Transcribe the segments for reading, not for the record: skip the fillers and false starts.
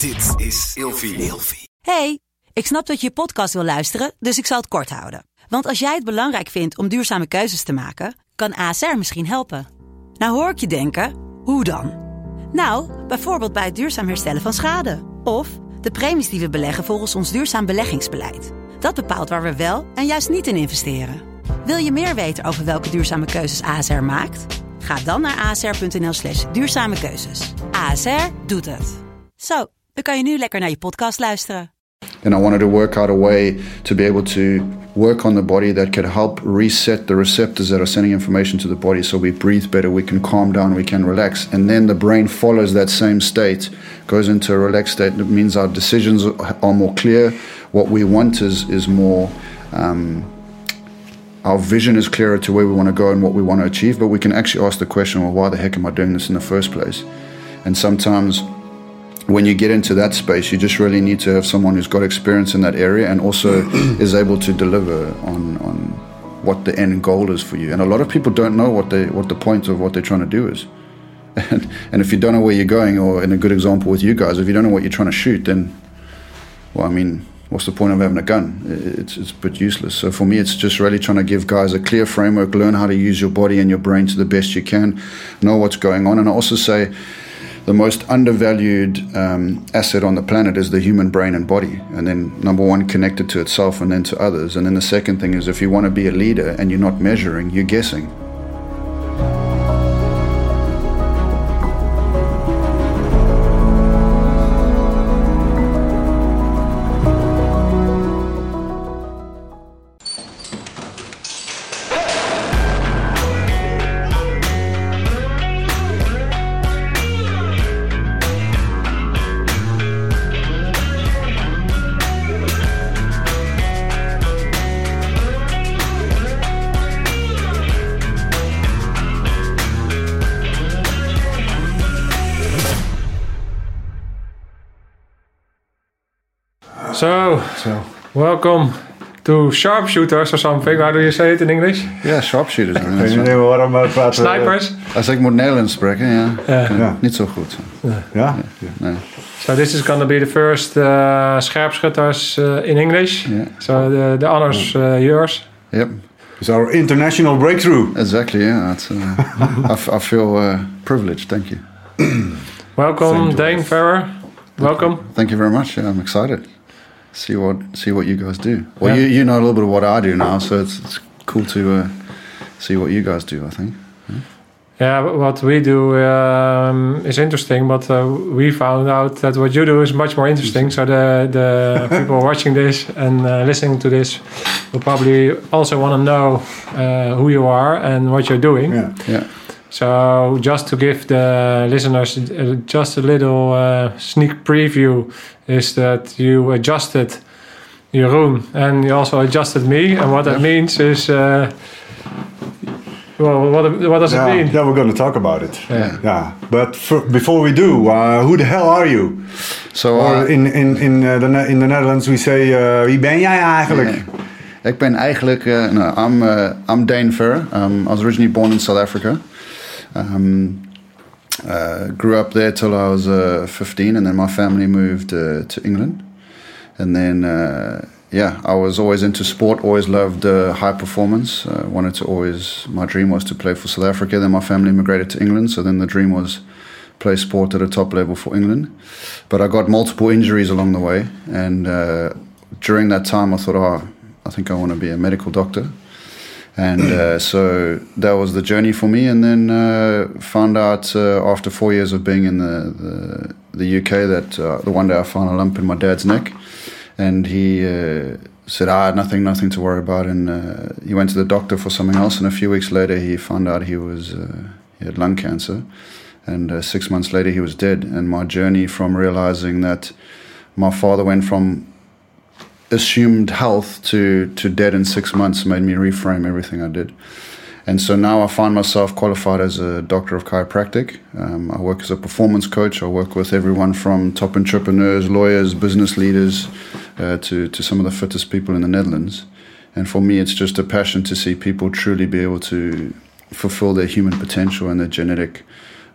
Dit is Ilfie. Hey, ik snap dat je je podcast wil luisteren, dus ik zal het kort houden. Want als jij het belangrijk vindt om duurzame keuzes te maken, kan ASR misschien helpen. Nou hoor ik je denken, hoe dan? Nou, bijvoorbeeld bij het duurzaam herstellen van schade. Of de premies die we beleggen volgens ons duurzaam beleggingsbeleid. Dat bepaalt waar we wel en juist niet in investeren. Wil je meer weten over welke duurzame keuzes ASR maakt? Ga dan naar asr.nl/duurzame keuzes. ASR doet het. Zo, dan kan je nu lekker naar je podcast luisteren. And I wanted to work out a way to be able to work on the body that could help reset the receptors that are sending information to the body so we breathe better, we can calm down, we can relax. And then the brain follows that same state, goes into a relaxed state. That means our decisions are more clear. What we want is more... our vision is clearer to where we want to go and what we want to achieve, but we can actually ask the question, well, why the heck am I doing this in the first place? And sometimes when you get into that space, you just really need to have someone who's got experience in that area and also is able to deliver on what the end goal is for you. And a lot of people don't know what the point of what they're trying to do is. And if you don't know where you're going, or in a good example with you guys, if you don't know what you're trying to shoot, then, well, I mean, what's the point of having a gun? It's a bit useless. So for me, it's just really trying to give guys a clear framework, learn how to use your body and your brain to the best you can, know what's going on. And I also say the most undervalued asset on the planet is the human brain and body. And then number one, connected to itself and then to others. And then the second thing is if you want to be a leader and you're not measuring, you're guessing. So, welcome to sharpshooters or something. How do you say it in English? Ja, sharpshooters. Ik weet niet waarom we praten. Snipers? Als ik moet Nederlands spreken, ja. Niet zo goed. Ja? Nee. So this is going to be the first scherpschutters in English. Yeah. So the honors yours. Yep. It's our international breakthrough. Exactly, yeah. I feel privileged, thank you. Welcome, Dane Ferrer. Welcome. Thank you very much. Yeah, I'm excited. See what you guys do. Well, you know a little bit of what I do now, so it's cool to see what you guys do, I think. Yeah, what we do is interesting, but we found out that what you do is much more interesting. So the people watching this and listening to this will probably also want to know who you are and what you're doing. Yeah. So just to give the listeners just a little sneak preview is that you adjusted Jeroen and you also adjusted me. And what that means is... well, what does it mean? Yeah, we're going to talk about it. Yeah. But before we do, who the hell are you? So, or in the Netherlands we say, wie ben jij eigenlijk? Yeah. Ik ben eigenlijk... I'm Dane Ferrer. I was originally born in South Africa. Grew up there till I was 15, and then my family moved to England. And then, I was always into sport, always loved high performance. My dream was to play for South Africa. Then my family immigrated to England, so then the dream was play sport at a top level for England. But I got multiple injuries along the way, and during that time I thought, I think I want to be a medical doctor. And so that was the journey for me, and then found out after 4 years of being in the UK that the one day I found a lump in my dad's neck, and he said, nothing to worry about, and he went to the doctor for something else, and a few weeks later he found out he had lung cancer, and 6 months later he was dead. And my journey from realizing that my father went from assumed health to dead in 6 months made me reframe everything I did. And so now I find myself qualified as a doctor of chiropractic. I work as a performance coach. I work with everyone from top entrepreneurs, lawyers, business leaders, to some of the fittest people in the Netherlands. And for me, it's just a passion to see people truly be able to fulfill their human potential and their genetic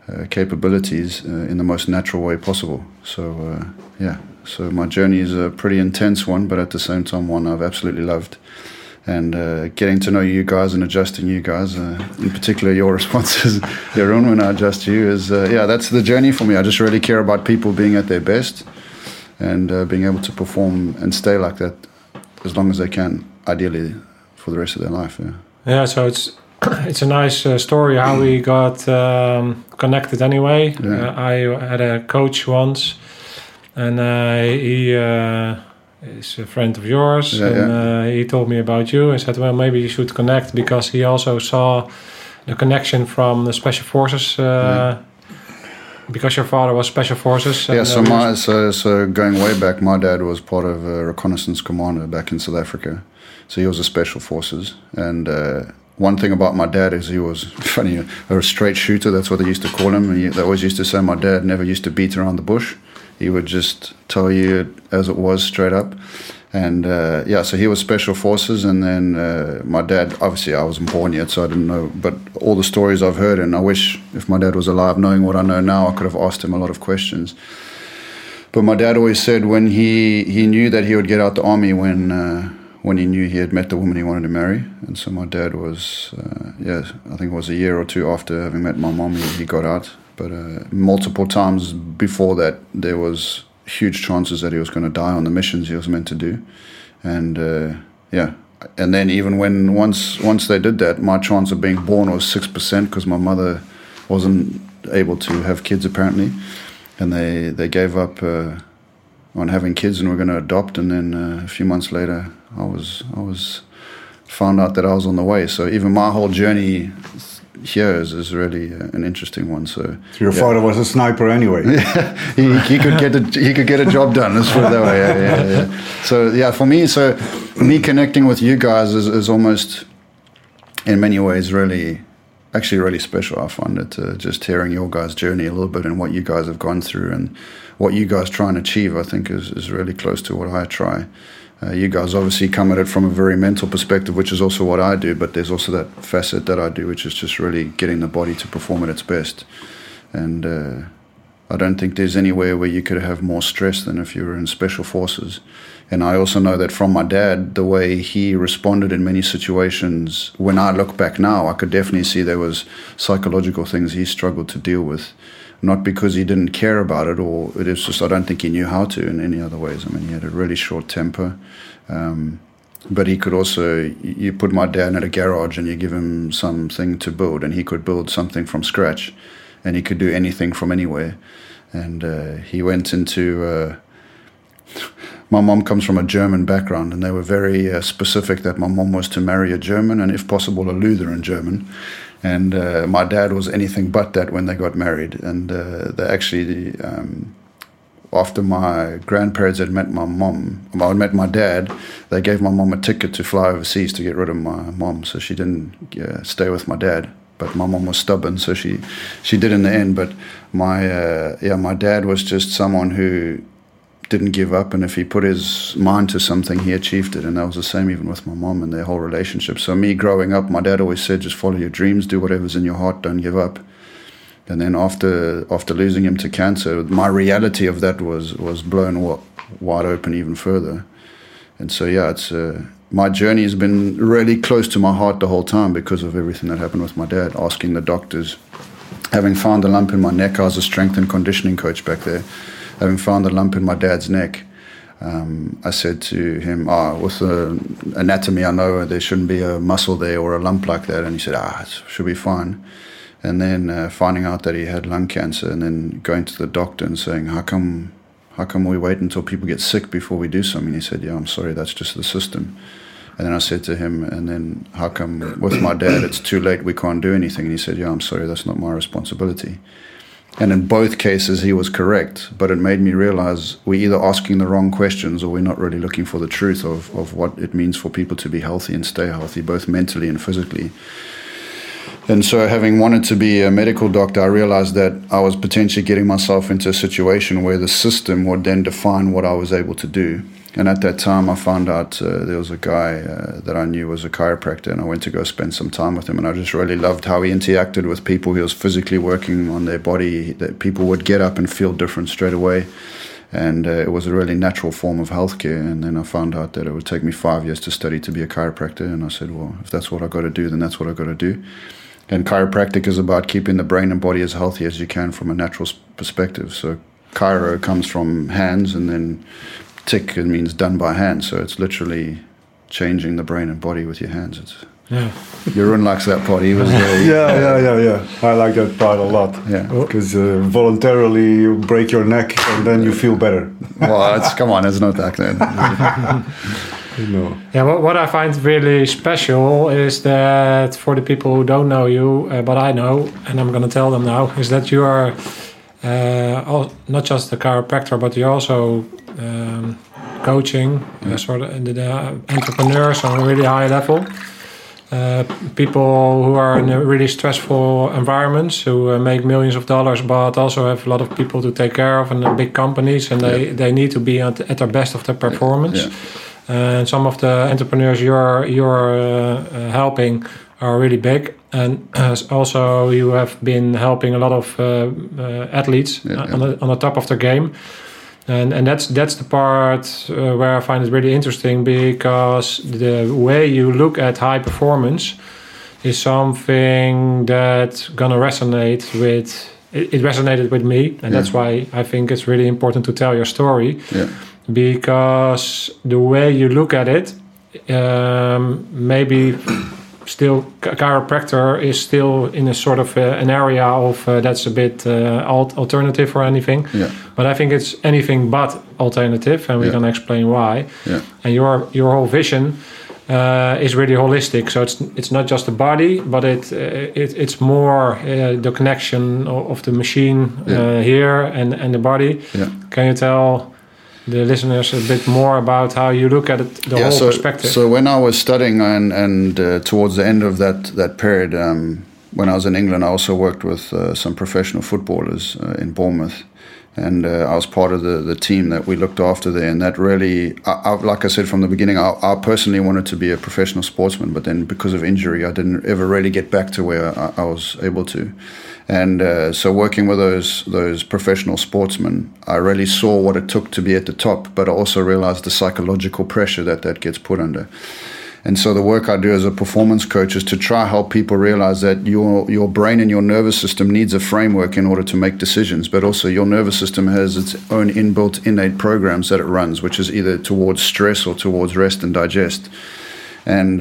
capabilities in the most natural way possible. So so my journey is a pretty intense one, but at the same time one I've absolutely loved. And getting to know you guys and adjusting you guys, in particular your responses, Jeroen, when I adjust you, is that's the journey for me. I just really care about people being at their best and being able to perform and stay like that as long as they can, ideally for the rest of their life. So it's a nice story how we got connected anyway. I had a coach once, and he is a friend of yours, he told me about you and said, well, maybe you should connect, because he also saw the connection from the Special Forces, because your father was Special Forces. So going way back, my dad was part of a reconnaissance commander back in South Africa, so he was a Special Forces. And one thing about my dad is he was funny, a straight shooter. That's what they used to call him. And they always used to say my dad never used to beat around the bush. He would just tell you as it was, straight up. And so he was Special Forces. And then my dad, obviously I wasn't born yet, so I didn't know. But all the stories I've heard, and I wish if my dad was alive, knowing what I know now, I could have asked him a lot of questions. But my dad always said when he knew that he would get out the army when he knew he had met the woman he wanted to marry. And so my dad was, I think it was a year or two after having met my mom, he got out. But multiple times before that, there was huge chances that he was going to die on the missions he was meant to do. And and then even when once they did that, my chance of being born was 6%, because my mother wasn't able to have kids apparently. And they gave up on having kids and were going to adopt. And then a few months later, I was found out that I was on the way. So even my whole journey here is really an interesting one. So your father was a sniper anyway. he could get a job done. Let's put it that way. Yeah. So for me connecting with you guys is almost in many ways really special. I find it just hearing your guys' journey a little bit and what you guys have gone through and what you guys try and achieve, I think is really close to what I try. You guys obviously come at it from a very mental perspective, which is also what I do, but there's also that facet that I do, which is just really getting the body to perform at its best. And I don't think there's anywhere where you could have more stress than if you were in Special Forces. And I also know that from my dad, the way he responded in many situations, when I look back now, I could definitely see there was psychological things he struggled to deal with. Not because he didn't care about it, or it is just I don't think he knew how to in any other ways. I mean, he had a really short temper, but he could also, you put my dad in a garage and you give him something to build, and he could build something from scratch, and he could do anything from anywhere. And he went into, my mom comes from a German background, and they were very specific that my mom was to marry a German, and if possible a Lutheran German. And my dad was anything but that when they got married. And they actually, after my grandparents had met met my dad, they gave my mom a ticket to fly overseas to get rid of my mom, so she didn't stay with my dad. But my mom was stubborn, so she did in the end. But my dad was just someone who didn't give up, and if he put his mind to something, he achieved it. And that was the same even with my mom and their whole relationship. So me growing up, my dad always said, just follow your dreams, do whatever's in your heart, don't give up. And then after losing him to cancer, my reality of that was blown wide open even further. And so it's my journey has been really close to my heart the whole time because of everything that happened with my dad. Asking the doctors, having found a lump in my neck, I was a strength and conditioning coach back there. Having found a lump in my dad's neck, I said to him, with the anatomy, I know there shouldn't be a muscle there or a lump like that. And he said, it should be fine. And then finding out that he had lung cancer, and then going to the doctor and saying, how come we wait until people get sick before we do something? He said, I'm sorry, that's just the system. And then I said to him, and then how come with my dad it's too late, we can't do anything? And he said, I'm sorry, that's not my responsibility. And in both cases, he was correct, but it made me realize we're either asking the wrong questions or we're not really looking for the truth of what it means for people to be healthy and stay healthy, both mentally and physically. And so having wanted to be a medical doctor, I realized that I was potentially getting myself into a situation where the system would then define what I was able to do. And at that time, I found out there was a guy that I knew was a chiropractor, and I went to go spend some time with him. And I just really loved how he interacted with people. He was physically working on their body, that people would get up and feel different straight away. And it was a really natural form of healthcare. And then I found out that it would take me 5 years to study to be a chiropractor. And I said, well, if that's what I got to do, then that's what I got to do. And chiropractic is about keeping the brain and body as healthy as you can from a natural perspective. So chiro comes from hands, and then tic, it means done by hand. So it's literally changing the brain and body with your hands. Jeroen likes that part. He was yeah. I like that part a lot. Yeah, because voluntarily you break your neck and then you feel better. Well, come on, it's not that then. No. Yeah, what I find really special is that for the people who don't know you, but I know, and I'm going to tell them now, is that you are not just a chiropractor, but you're also coaching sort of the entrepreneurs on a really high level. People who are in a really stressful environments, who make millions of dollars, but also have a lot of people to take care of, and big companies, and they need to be at their best of their performance. Yeah. And some of the entrepreneurs you're helping are really big, and also you have been helping a lot of athletes on the top of their game. And that's the part where I find it really interesting, because the way you look at high performance is something that's gonna resonate with. It resonated with me, and that's why I think it's really important to tell your story. Yeah. Because the way you look at it, maybe still chiropractor is still in a sort of an area of that's a bit alternative or anything. Yeah. But I think it's anything but alternative, and we're going to explain why. Yeah. And your whole vision is really holistic. So it's not just the body, but it's more the connection of the machine here and the body. Yeah. Can you tell the listeners a bit more about how you look at it, the whole perspective? So when I was studying and towards the end of that period, when I was in England, I also worked with some professional footballers in Bournemouth. And I was part of the team that we looked after there. And that really, like I said from the beginning, I personally wanted to be a professional sportsman. But then because of injury, I didn't ever really get back to where I was able to. And so working with those professional sportsmen, I really saw what it took to be at the top. But I also realized the psychological pressure that gets put under. And so the work I do as a performance coach is to try to help people realize that your brain and your nervous system needs a framework in order to make decisions, but also your nervous system has its own inbuilt innate programs that it runs, which is either towards stress or towards rest and digest. And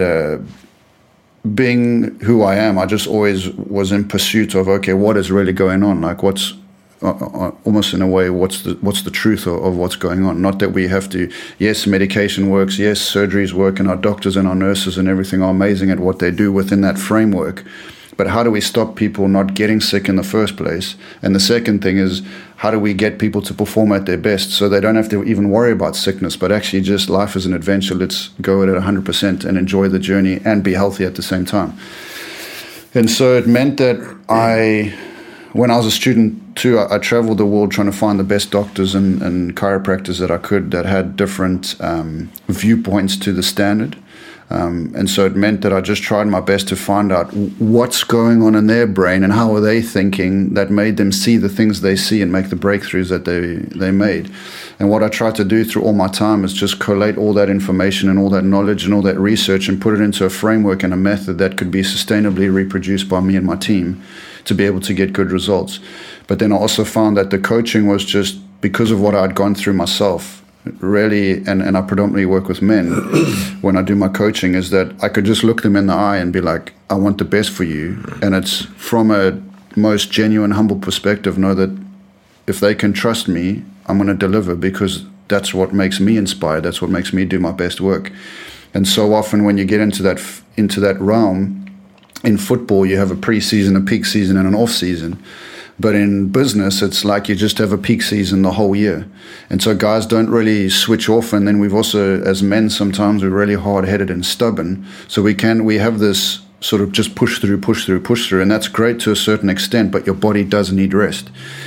being who I am, I just always was in pursuit of, okay, what is really going on? Like what's almost in a way, what's the truth of what's going on? Not that we have to, yes, medication works, yes, surgeries work, and our doctors and our nurses and everything are amazing at what they do within that framework. But how do we stop people not getting sick in the first place? And the second thing is, how do we get people to perform at their best so they don't have to even worry about sickness, but actually just life is an adventure. Let's go at it 100% and enjoy the journey and be healthy at the same time. And so it meant that when I was a student too, I traveled the world trying to find the best doctors and chiropractors that I could that had different viewpoints to the standard. And so it meant that I just tried my best to find out what's going on in their brain and how are they thinking that made them see the things they see and make the breakthroughs that they made. And what I tried to do through all my time is just collate all that information and all that knowledge and all that research and put it into a framework and a method that could be sustainably reproduced by me and my team to be able to get good results. But then I also found that the coaching was just because of what I'd gone through myself, really, and I predominantly work with men when I do my coaching, is that I could just look them in the eye and be like, I want the best for you. And it's from a most genuine, humble perspective, know that if they can trust me, I'm going to deliver, because that's what makes me inspired. That's what makes me do my best work. And so often when you get into that realm, in football, you have a pre-season, a peak season, and an off-season. But in business, it's like you just have a peak season the whole year. And so guys don't really switch off. And then we've also, as men, sometimes we're really hard-headed and stubborn. So we have this sort of just push through. And that's great to a certain extent, but your body does need rest.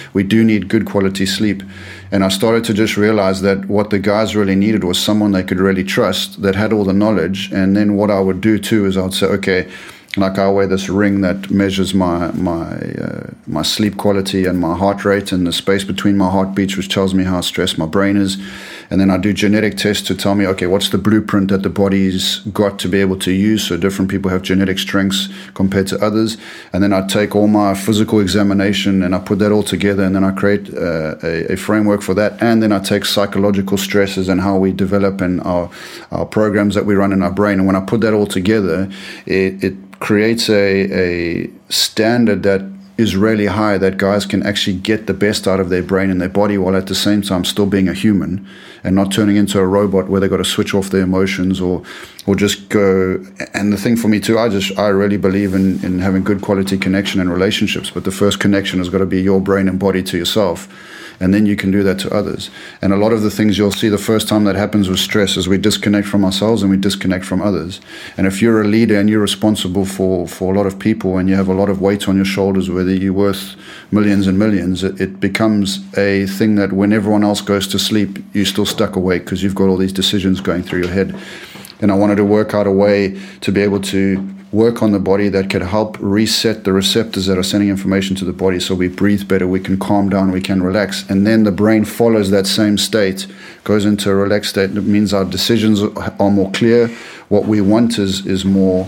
we do need good quality sleep. And I started to just realize that what the guys really needed was someone they could really trust, that had all the knowledge. And then what I would do too is I would say, okay, like I wear this ring that measures my sleep quality and my heart rate and the space between my heartbeats, which tells me how stressed my brain is. And then I do genetic tests to tell me, okay, what's the blueprint that the body's got to be able to use? So different people have genetic strengths compared to others. And then I take all my physical examination and I put that all together, and then I create a framework for that. And then I take psychological stresses and how we develop and our programs that we run in our brain. And when I put that all together, it creates a standard that is really high, that guys can actually get the best out of their brain and their body while at the same time still being a human and not turning into a robot where they got to switch off their emotions or just go. And the thing for me too, I really believe in having good quality connection and relationships, but the first connection has got to be your brain and body to yourself. And then you can do that to others. And a lot of the things you'll see the first time that happens with stress is we disconnect from ourselves and we disconnect from others. And if you're a leader and you're responsible for a lot of people and you have a lot of weight on your shoulders, whether you're worth millions and millions, it becomes a thing that when everyone else goes to sleep, you're still stuck awake because you've got all these decisions going through your head. And I wanted to work out a way to be able to work on the body that could help reset the receptors that are sending information to the body so we breathe better, we can calm down, we can relax. And then the brain follows that same state, goes into a relaxed state. It means our decisions are more clear. What we want is more,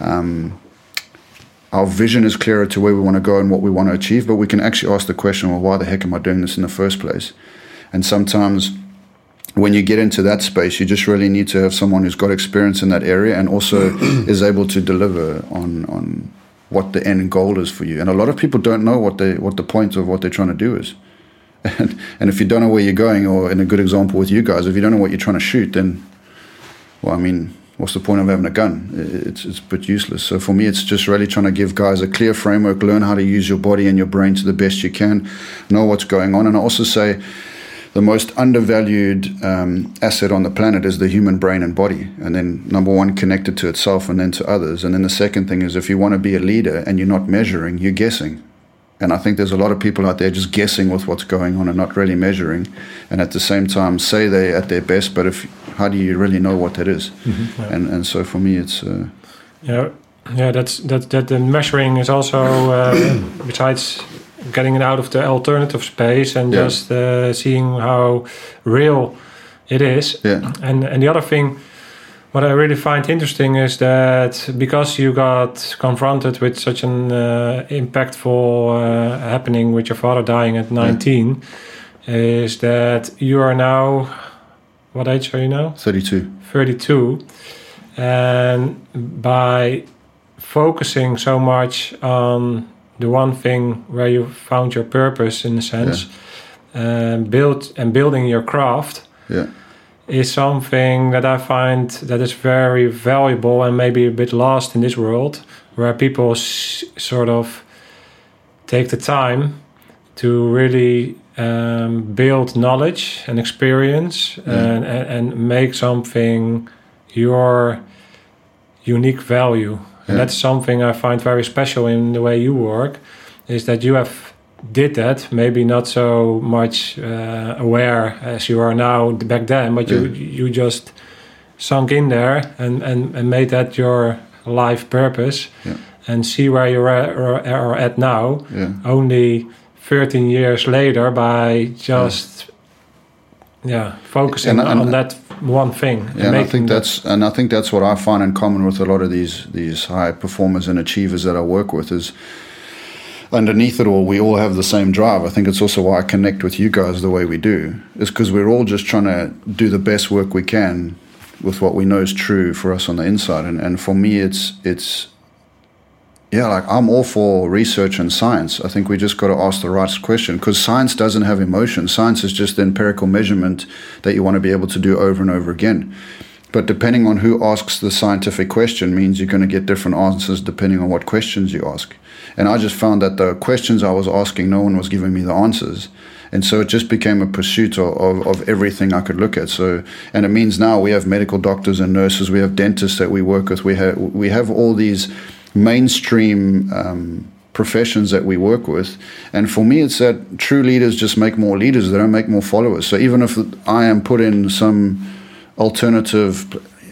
our vision is clearer to where we want to go and what we want to achieve. But we can actually ask the question, well, why the heck am I doing this in the first place? And sometimes when you get into that space, you just really need to have someone who's got experience in that area and also is able to deliver on what the end goal is for you. And a lot of people don't know what the point of what they're trying to do is. And if you don't know where you're going, or in a good example with you guys, if you don't know what you're trying to shoot, then, well, I mean, what's the point of having a gun? It's a bit useless. So for me, it's just really trying to give guys a clear framework, learn how to use your body and your brain to the best you can, know what's going on. And I also say, the most undervalued asset on the planet is the human brain and body. And then number one, connected to itself and then to others. And then the second thing is if you want to be a leader and you're not measuring, you're guessing. And I think there's a lot of people out there just guessing with what's going on and not really measuring. And at the same time, say they're at their best, but how do you really know what that is? Mm-hmm. Yeah. And so for me, it's... that the measuring is also, besides getting it out of the alternative space and just seeing how real it is. Yeah. And the other thing, what I really find interesting is that because you got confronted with such an impactful happening with your father dying at 19, is that you are now, what age are you now? 32. 32. And by focusing so much on the one thing where you found your purpose, in a sense, building your craft, is something that I find that is very valuable and maybe a bit lost in this world, where people sort of take the time to really build knowledge and experience and make something your unique value. And that's something I find very special in the way you work, is that you have did that, maybe not so much aware as you are now back then, but you just sunk in there and made that your life purpose and see where you are at now, only 13 years later, by just focusing on that one thing. And I think that's what I find in common with a lot of these high performers and achievers that I work with is underneath it all, we all have the same drive. I think it's also why I connect with you guys the way we do, is because we're all just trying to do the best work we can with what we know is true for us on the inside. And for me, it's like I'm all for research and science. I think we just got to ask the right question, because science doesn't have emotion. Science is just the empirical measurement that you want to be able to do over and over again. But depending on who asks the scientific question means you're going to get different answers depending on what questions you ask. And I just found that the questions I was asking, no one was giving me the answers. And so it just became a pursuit of everything I could look at. So, and it means now we have medical doctors and nurses, we have dentists that we work with, we have all these mainstream professions that we work with. And for me, it's that true leaders just make more leaders. They don't make more followers. So even if I am put in some alternative,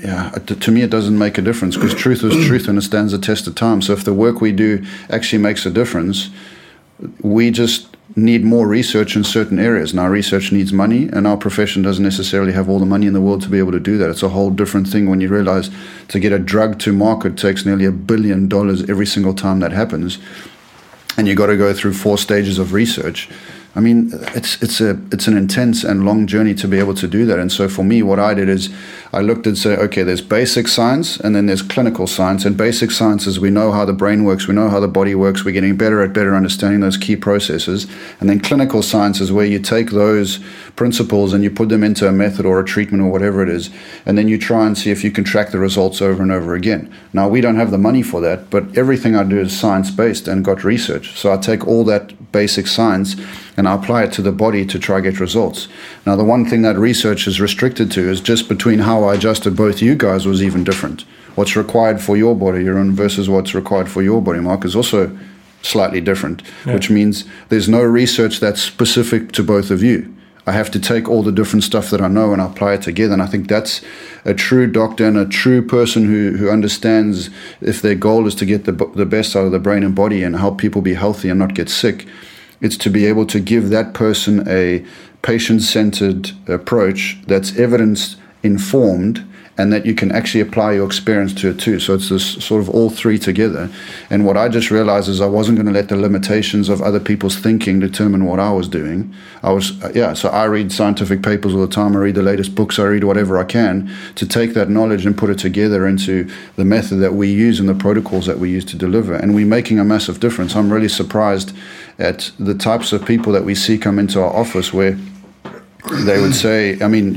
to me, it doesn't make a difference, because truth is truth and it stands the test of time. So if the work we do actually makes a difference, we just need more research in certain areas. Now, research needs money, and our profession doesn't necessarily have all the money in the world to be able to do that. It's a whole different thing when you realize to get a drug to market takes nearly $1 billion every single time that happens, and you got to go through 4 stages of research. I mean, it's an intense and long journey to be able to do that. And so for me, what I did is I looked and said, okay, there's basic science and then there's clinical science. And basic science is we know how the brain works, we know how the body works, we're getting better at understanding those key processes. And then clinical science is where you take those principles and you put them into a method or a treatment or whatever it is, and then you try and see if you can track the results over and over again. Now, we don't have the money for that, but everything I do is science-based and got research. So I take all that basic science and I apply it to the body to try get results. Now, the one thing that research is restricted to is just between how I adjusted both you guys was even different. What's required for your body, Jeroen, versus what's required for your body, Mark, is also slightly different, which means there's no research that's specific to both of you. I have to take all the different stuff that I know and apply it together. And I think that's a true doctor and a true person who understands, if their goal is to get the best out of the brain and body and help people be healthy and not get sick, it's to be able to give that person a patient-centered approach that's evidence-informed, and that you can actually apply your experience to it too. So it's this sort of all three together. And what I just realized is I wasn't going to let the limitations of other people's thinking determine what I was doing. So I read scientific papers all the time. I read the latest books. I read whatever I can to take that knowledge and put it together into the method that we use and the protocols that we use to deliver. And we're making a massive difference. I'm really surprised at the types of people that we see come into our office where they would say, I mean,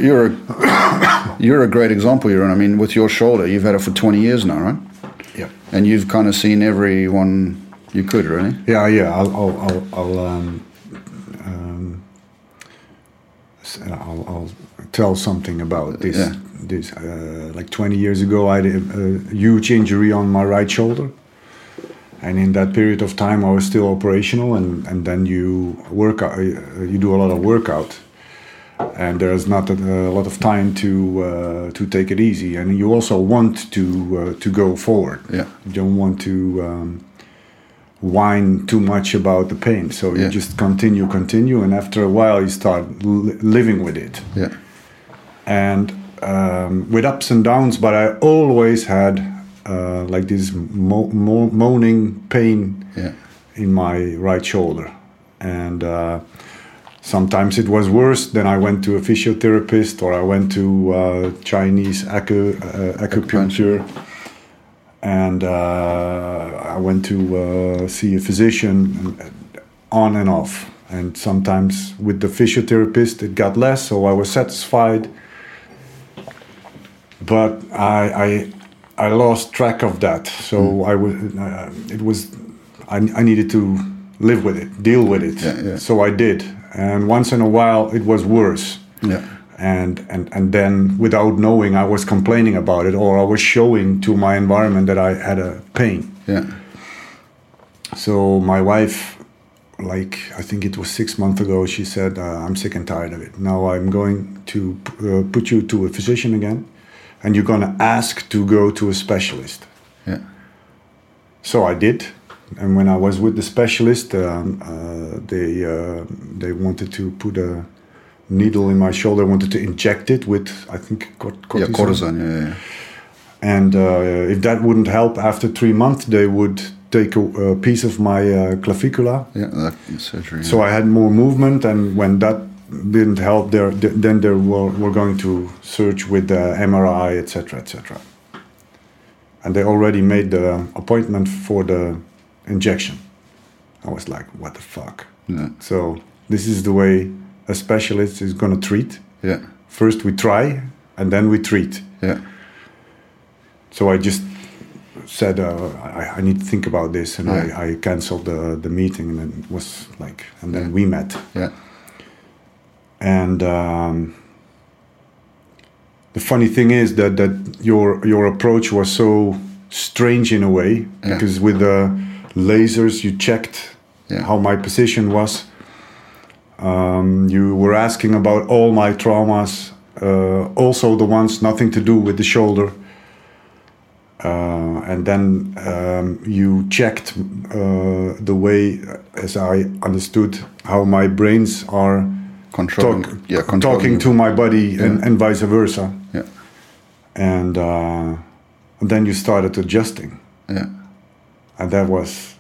you're a great example, Jeroen. I mean, with your shoulder, you've had it for 20 years now, right? Yeah. And you've kind of seen everyone you could, really. Yeah. I'll tell something about this. Yeah. Like 20 years ago, I had a huge injury on my right shoulder. And in that period of time, I was still operational, and then you do a lot of workout. And there's not a lot of time to take it easy, and you also want to go forward. Yeah. You don't want to whine too much about the pain, so you just continue, and after a while you start living with it. Yeah. And with ups and downs, but I always had like this moaning pain in my right shoulder, and. Sometimes it was worse. Then I went to a physiotherapist, or I went to Chinese acupuncture, and I went to see a physician, on and off. And sometimes with the physiotherapist it got less, so I was satisfied. But I lost track of that. So I needed to live with it, deal with it. Yeah. So I did. And once in a while, it was worse. Yeah. And then, without knowing, I was complaining about it, or I was showing to my environment that I had a pain. Yeah. So my wife, like, I think it was 6 months ago, she said, I'm sick and tired of it. Now I'm going to put you to a physician again, and you're going to ask to go to a specialist. Yeah. So I did. And when I was with the specialist, they wanted to put a needle in my shoulder, wanted to inject it with, I think, cortisone. Yeah, cortisone, yeah. And if that wouldn't help, after 3 months, they would take a piece of my clavicula. Yeah, that surgery. Yeah. So I had more movement, and when that didn't help, then they were going to search with the MRI, etc., etc. And they already made the appointment for the injection. I was like, what the fuck? Yeah. So this is the way a specialist is going to treat. Yeah. First we try, and then we treat. Yeah. So I just said, I need to think about this, and I canceled the meeting, and then it was like, and then we met. Yeah. And the funny thing is that your approach was so strange in a way, because with the lasers. You checked how my position was. You were asking about all my traumas, also the ones nothing to do with the shoulder. And then you checked the way, as I understood, how my brains are talking to my body and vice versa. Yeah. And then you started adjusting. Yeah. And that was,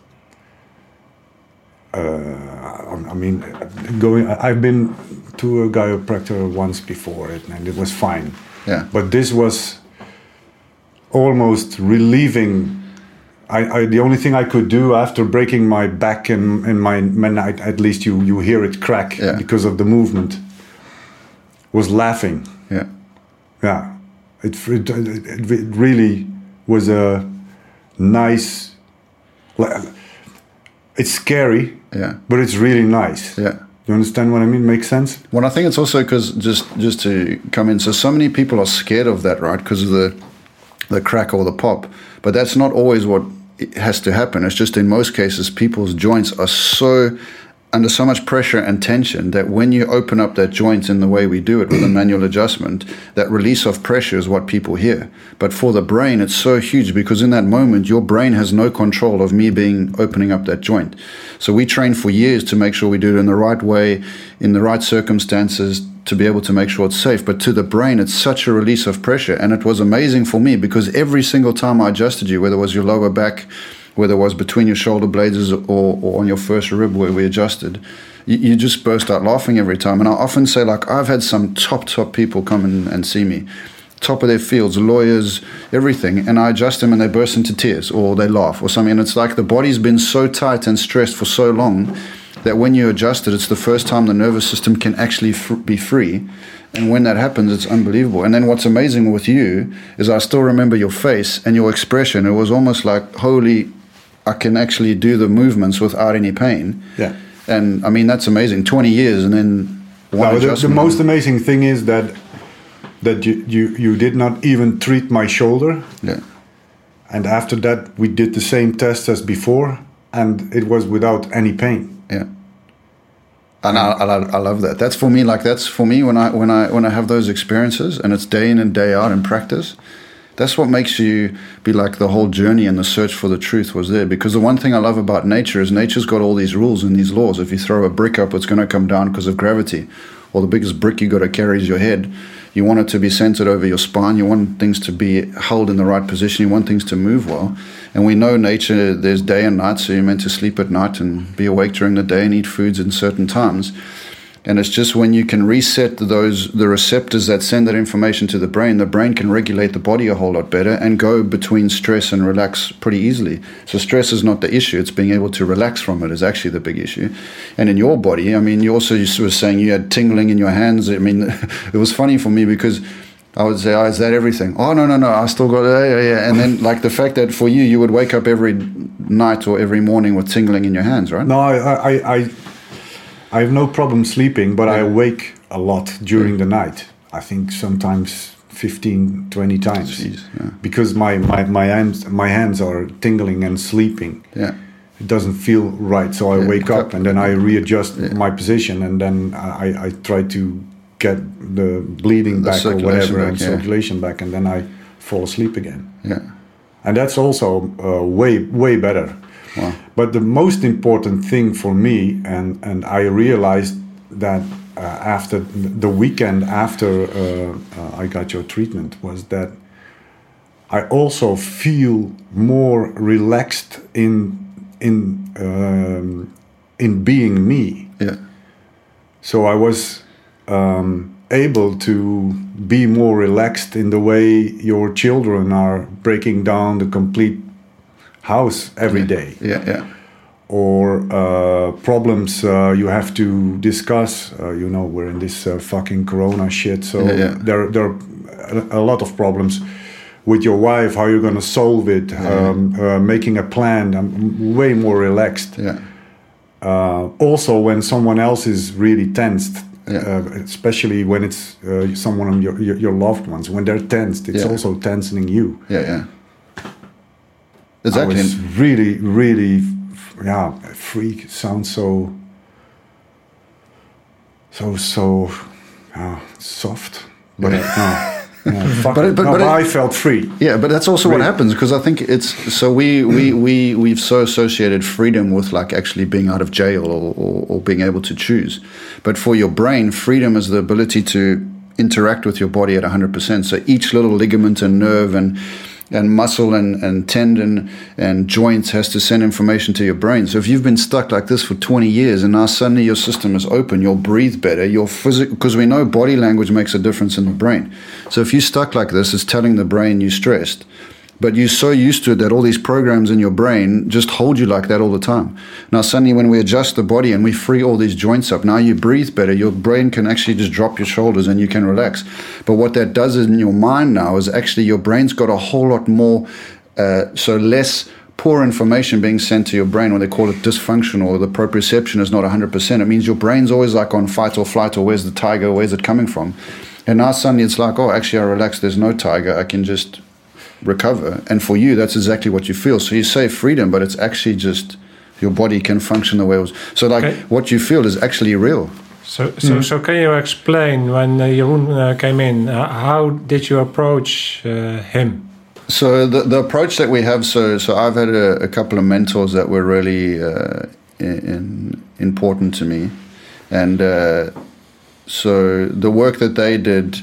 I've been to a chiropractor once before and it was fine. Yeah. But this was almost relieving. The only thing I could do after breaking my back and my at least you hear it crack because of the movement, was laughing. Yeah. Yeah. It really was a nice. It's scary. Yeah. But it's really nice. Yeah. You understand what I mean? Makes sense? Well, I think it's also because just to come in, so many people are scared of that, right? Because of the crack or the pop. But that's not always what has to happen. It's just in most cases, people's joints are under so much pressure and tension that when you open up that joint in the way we do it with a manual adjustment, that release of pressure is what people hear. But for the brain, it's so huge because in that moment, your brain has no control of me opening up that joint. So we train for years to make sure we do it in the right way, in the right circumstances, to be able to make sure it's safe. But to the brain, it's such a release of pressure. And it was amazing for me because every single time I adjusted you, whether it was your lower back, whether it was between your shoulder blades or on your first rib where we adjusted, you just burst out laughing every time. And I often say, like, I've had some top people come and see me, top of their fields, lawyers, everything, and I adjust them and they burst into tears or they laugh or something. And it's like the body's been so tight and stressed for so long that when you adjust it, it's the first time the nervous system can actually be free. And when that happens, it's unbelievable. And then what's amazing with you is I still remember your face and your expression. It was almost like, holy, I can actually do the movements without any pain. Yeah. And I mean, that's amazing. 20 years and then one adjustment. The most amazing thing is that you did not even treat my shoulder. Yeah. And after that, we did the same test as before, and it was without any pain. Yeah. And I love that. That's for me when I have those experiences and it's day in and day out in practice. That's what makes you be like the whole journey and the search for the truth was there. Because the one thing I love about nature is nature's got all these rules and these laws. If you throw a brick up, it's going to come down because of gravity. Or the biggest brick you got to carry is your head. You want it to be centered over your spine. You want things to be held in the right position. You want things to move well. And we know nature, there's day and night, so you're meant to sleep at night and be awake during the day and eat foods in certain times. And it's just when you can reset the receptors that send that information to the brain can regulate the body a whole lot better and go between stress and relax pretty easily. So stress is not the issue. It's being able to relax from it is actually the big issue. And in your body, I mean, you were saying you had tingling in your hands. I mean, it was funny for me because I would say, oh, is that everything? Oh, no, I still got it. Yeah. And then like the fact that for you would wake up every night or every morning with tingling in your hands, right? No, I have no problem sleeping, but I awake a lot during the night. I think sometimes 15, 20 times. Jeez, yeah. Because my hands are tingling and sleeping. Yeah. It doesn't feel right, so I wake up and then I readjust my position and then I try to get the bleeding back or whatever and circulation back, and then I fall asleep again. Yeah. And that's also way better. Wow. But the most important thing for me, and I realized that after the weekend after I got your treatment, was that I also feel more relaxed in being me. Yeah. So I was able to be more relaxed in the way your children are breaking down the complete house every day. Yeah. Or problems you have to discuss. We're in this fucking corona shit, so there are a lot of problems with your wife, how you're going to solve it, making a plan. I'm way more relaxed. Yeah. Also, when someone else is really tensed, especially when it's someone of your loved ones, when they're tensed, it's also tensing you. Yeah. Exactly. I was really, really free sounds so soft, but but I felt free. Yeah, but that's also what happens, because I think it's so we've so associated freedom with like actually being out of jail or being able to choose. But for your brain, freedom is the ability to interact with your body at 100%. So each little ligament and nerve and muscle and tendon and joints has to send information to your brain. So if you've been stuck like this for 20 years and now suddenly your system is open, you'll breathe better, because we know body language makes a difference in the brain. So if you're stuck like this, it's telling the brain you're stressed. But you're so used to it that all these programs in your brain just hold you like that all the time. Now suddenly when we adjust the body and we free all these joints up, now you breathe better, your brain can actually just drop your shoulders and you can relax. But what that does in your mind now is actually your brain's got a whole lot more, so less poor information being sent to your brain, when they call it dysfunctional, or the proprioception is not 100%. It means your brain's always like on fight or flight, or where's the tiger, where's it coming from? And now suddenly it's like, oh, actually I relax, there's no tiger, I can just recover. And for you, that's exactly what you feel. So you say freedom, but it's actually just your body can function the way it was. So like what you feel is actually real. So can you explain, when Jeroen came in, how did you approach him? So the approach that we have, so I've had a couple of mentors that were really important to me. And so the work that they did,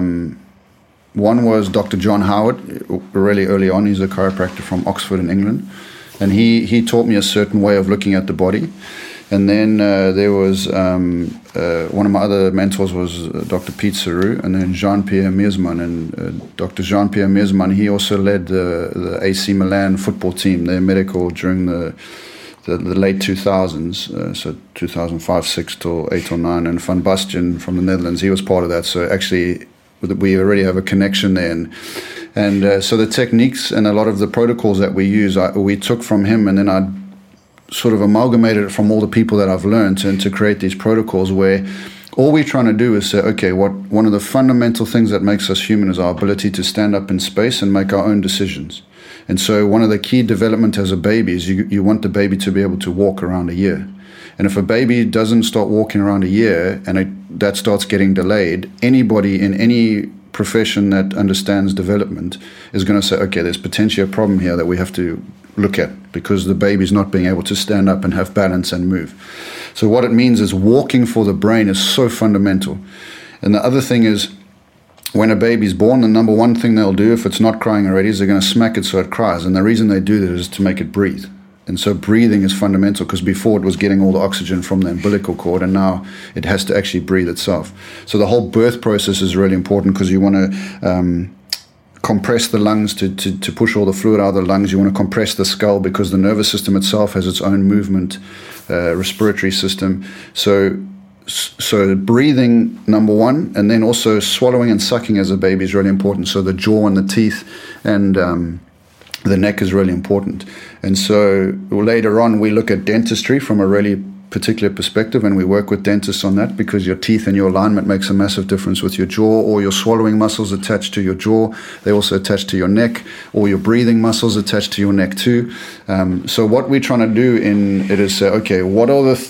one was Dr. John Howard, really early on. He's a chiropractor from Oxford in England. And he taught me a certain way of looking at the body. And then there was one of my other mentors was Dr. Pete Saru, and then Jean-Pierre Meersman. And Dr. Jean-Pierre Meersman, he also led the AC Milan football team, their medical during the late 2000s, so 2005, 6 till 8 or 9. And Van Basten from the Netherlands, he was part of that. So actually, we already have a connection there. And so the techniques and a lot of the protocols that we use, we took from him, and then I sort of amalgamated it from all the people that I've learned and to create these protocols where all we're trying to do is say, okay, one of the fundamental things that makes us human is our ability to stand up in space and make our own decisions. And so one of the key development as a baby is you want the baby to be able to walk around a year. And if a baby doesn't start walking around a year and that starts getting delayed, anybody in any profession that understands development is going to say, okay, there's potentially a problem here that we have to look at, because the baby's not being able to stand up and have balance and move. So what it means is walking for the brain is so fundamental. And the other thing is, when a baby's born, the number one thing they'll do if it's not crying already is they're going to smack it so it cries. And the reason they do that is to make it breathe. And so breathing is fundamental, because before it was getting all the oxygen from the umbilical cord, and now it has to actually breathe itself. So the whole birth process is really important, because you want to compress the lungs to push all the fluid out of the lungs. You want to compress the skull, because the nervous system itself has its own movement, respiratory system. So breathing, number one, and then also swallowing and sucking as a baby is really important. So the jaw and the teeth and the neck is really important. And so later on, we look at dentistry from a really particular perspective, and we work with dentists on that, because your teeth and your alignment makes a massive difference with your jaw, or your swallowing muscles attached to your jaw. They also attach to your neck, or your breathing muscles attached to your neck too. So what we're trying to do in it is say, okay, what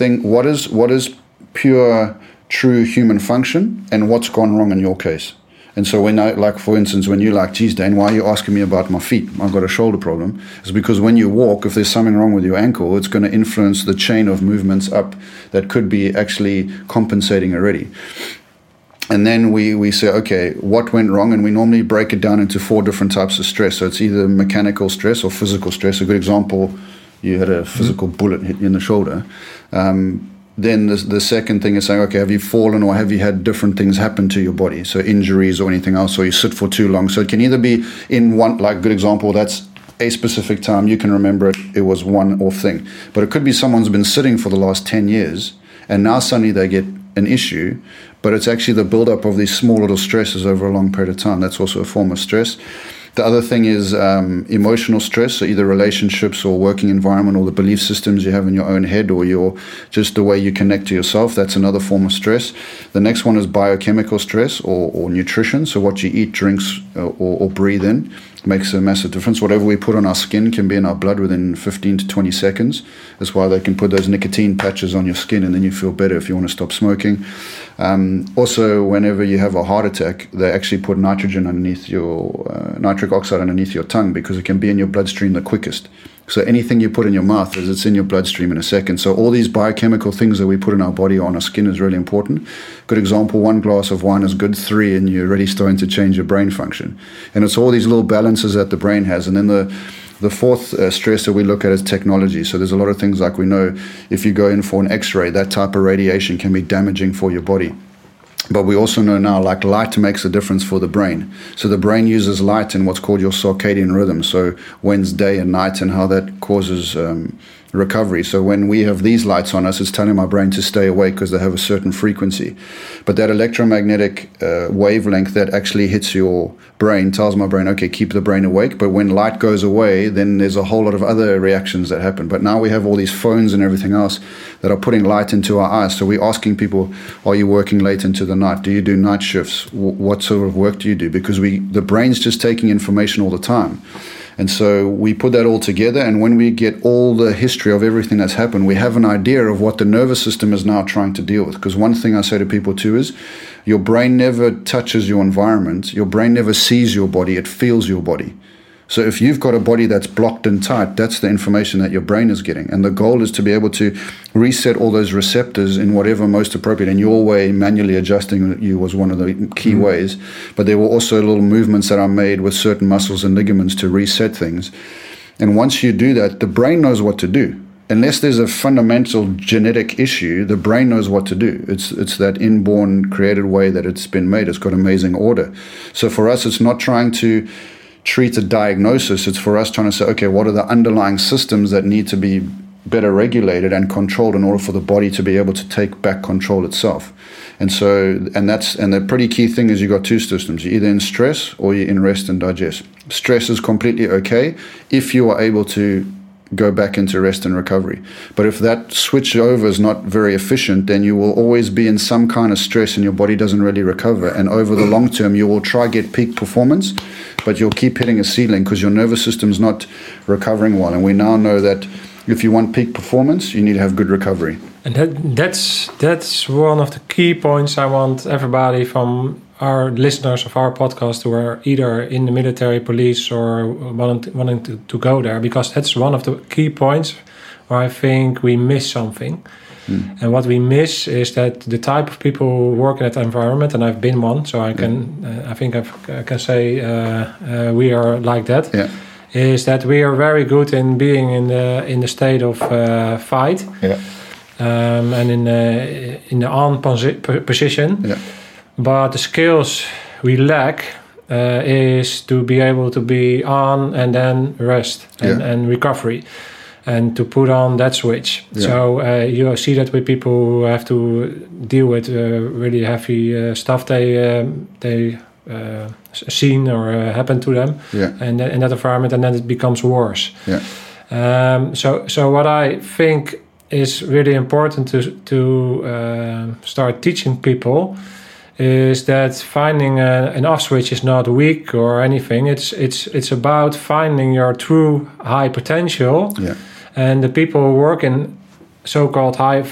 is pure, true human function, and what's gone wrong in your case? And so when like for instance, when you're like, geez, Dane, why are you asking me about my feet? I've got a shoulder problem. It's because when you walk, if there's something wrong with your ankle, it's going to influence the chain of movements up that could be actually compensating already. And then we say, okay, what went wrong? And we normally break it down into 4 different types of stress. So it's either mechanical stress or physical stress. A good example, you had a physical bullet hit you in the shoulder. Then the second thing is saying, okay, have you fallen, or have you had different things happen to your body? So injuries or anything else, or you sit for too long. So it can either be in one, like good example, that's a specific time, you can remember it was one-off thing. But it could be someone's been sitting for the last 10 years, and now suddenly they get an issue, but it's actually the buildup of these small little stresses over a long period of time. That's also a form of stress. The other thing is emotional stress, so either relationships or working environment, or the belief systems you have in your own head, or just the way you connect to yourself. That's another form of stress. The next one is biochemical stress or nutrition, so what you eat, drinks, or breathe in. makes a massive difference. Whatever we put on our skin can be in our blood within 15 to 20 seconds. That's why they can put those nicotine patches on your skin and then you feel better if you want to stop smoking. Also, whenever you have a heart attack, they actually put nitrogen underneath your, nitric oxide underneath your tongue because it can be in your bloodstream the quickest. So anything you put in your mouth, it's in your bloodstream in a second. So all these biochemical things that we put in our body or on our skin is really important. Good example, 1 glass of wine is good, 3 and you're already starting to change your brain function. And it's all these little balances that the brain has. And then the fourth stress that we look at is technology. So there's a lot of things like we know if you go in for an X-ray, that type of radiation can be damaging for your body. But we also know now, like light makes a difference for the brain. So the brain uses light in what's called your circadian rhythm. So when's day and night and how that causes recovery. So when we have these lights on us, it's telling my brain to stay awake because they have a certain frequency. But that electromagnetic wavelength that actually hits your brain tells my brain, okay, keep the brain awake. But when light goes away, then there's a whole lot of other reactions that happen. But now we have all these phones and everything else that are putting light into our eyes. So we're asking people, are you working late into the night? Do you do night shifts? What sort of work do you do? Because the brain's just taking information all the time. And so we put that all together, and when we get all the history of everything that's happened, we have an idea of what the nervous system is now trying to deal with. Because one thing I say to people too is, your brain never touches your environment. Your brain never sees your body. It feels your body. So if you've got a body that's blocked and tight, that's the information that your brain is getting. And the goal is to be able to reset all those receptors in whatever most appropriate. In your way, manually adjusting you was one of the key ways. But there were also little movements that are made with certain muscles and ligaments to reset things. And once you do that, the brain knows what to do. Unless there's a fundamental genetic issue, the brain knows what to do. It's that inborn created way that it's been made. It's got amazing order. So for us, it's not trying to treat a diagnosis. It's for us trying to say, okay, what are the underlying systems that need to be better regulated and controlled in order for the body to be able to take back control itself. And so, and the pretty key thing is you got two systems. You're either in stress or you're in rest and digest. Stress is completely okay if you are able to go back into rest and recovery. But if that switch over is not very efficient, then you will always be in some kind of stress and your body doesn't really recover. And over the long term, you will try get peak performance, but you'll keep hitting a ceiling because your nervous system's not recovering well. And we now know that if you want peak performance, you need to have good recovery. And that's one of the key points I want everybody from our listeners of our podcast who are either in the military, police, or wanting to go there, because that's one of the key points where I think we miss something. And what we miss is that the type of people who work in that environment, and I've been one, so I can, I think I can say we are like that. Yeah. Is that we are very good in being in the state of fight, and in the on position. Yeah. But the skills we lack is to be able to be on and then rest and recovery, and to put on that switch. Yeah. So you see that with people who have to deal with really heavy stuff they seen or happen to them, and in that environment, and then it becomes worse. Yeah. So what I think is really important to start teaching people is that finding an off switch is not weak or anything. It's about finding your true high potential, and the people who work in so-called high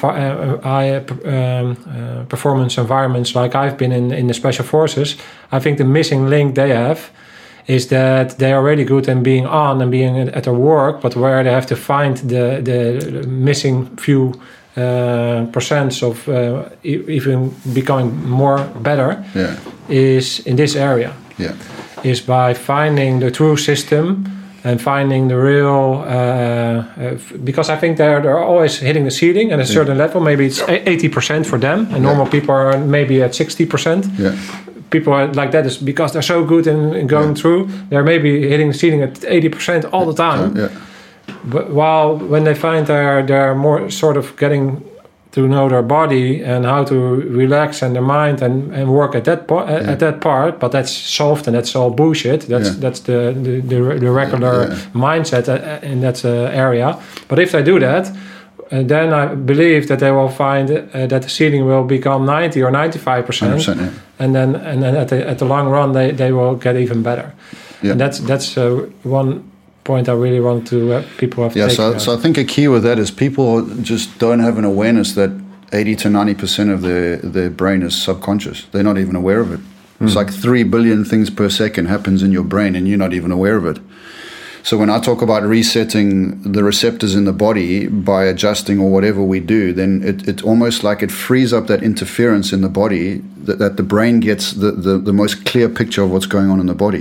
performance environments, like I've been in the special forces. I think the missing link they have is that they are really good in being on and being at their work, but where they have to find the missing few percents of even becoming more better is in this area. Is by finding the true system and finding the real because I think they're always hitting the ceiling at a certain level. Maybe it's 80% for them, and normal people are maybe at 60%. People are like that is because they're so good in going through. They're maybe hitting the ceiling at 80% all the time. But while when they find they're more sort of getting to know their body and how to relax and their mind and work at that at that part, but that's soft and that's all bullshit. That's the regular mindset in that area. But if they do that, then I believe that they will find that the ceiling will become 90 or 95%, yeah. and then at the long run they will get even better. Yeah. And that's one point I really want to people have. Yeah, so I think a key with that is people just don't have an awareness that 80 to 90% of their brain is subconscious. They're not even aware of it. It's like 3 billion things per second happens in your brain, and you're not even aware of it. So when I talk about resetting the receptors in the body by adjusting or whatever we do, then it's almost like it frees up that interference in the body that the brain gets the most clear picture of what's going on in the body.